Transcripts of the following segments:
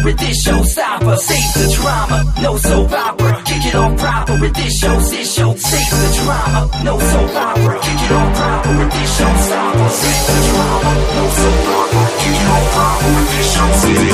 with this showstopper. Save the drama, no soap opera. Kick it off proper with this show. Save the drama, no soap opera. Kick it off proper with this showstopper. Save the drama, no soap opera. Kick it off proper with this show.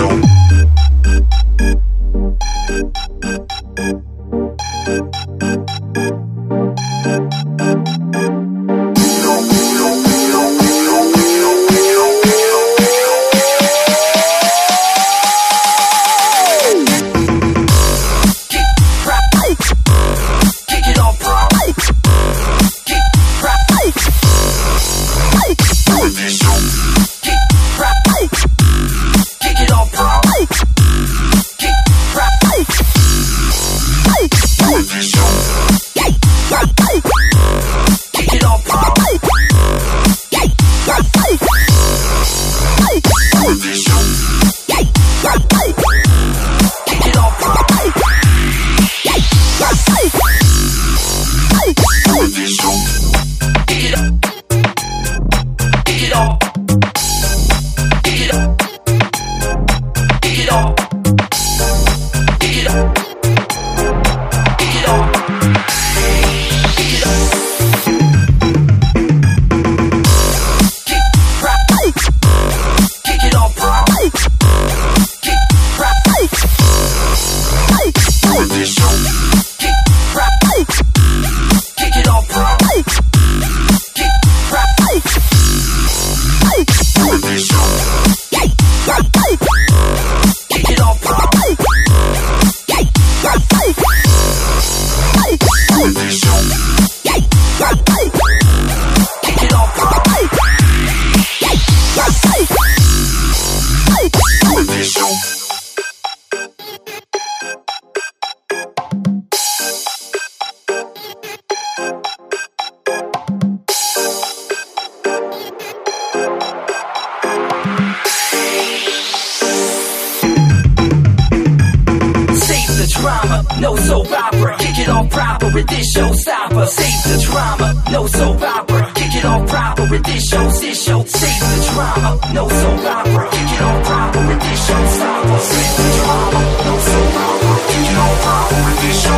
No soap opera, kick it off proper with this showstopper. Save the drama, no soap opera, kick it off proper with this show. Save the drama, no soap opera, kick it off proper with this showstopper. Save the drama, no soap opera, kick it off proper with this show.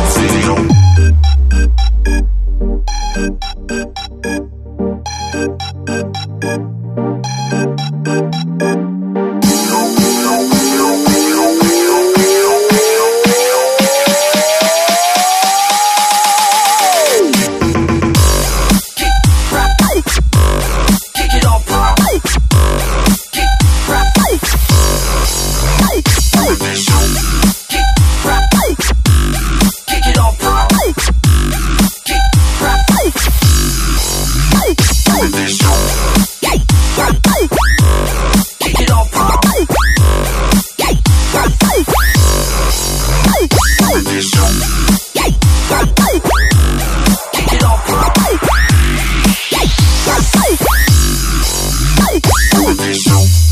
Show.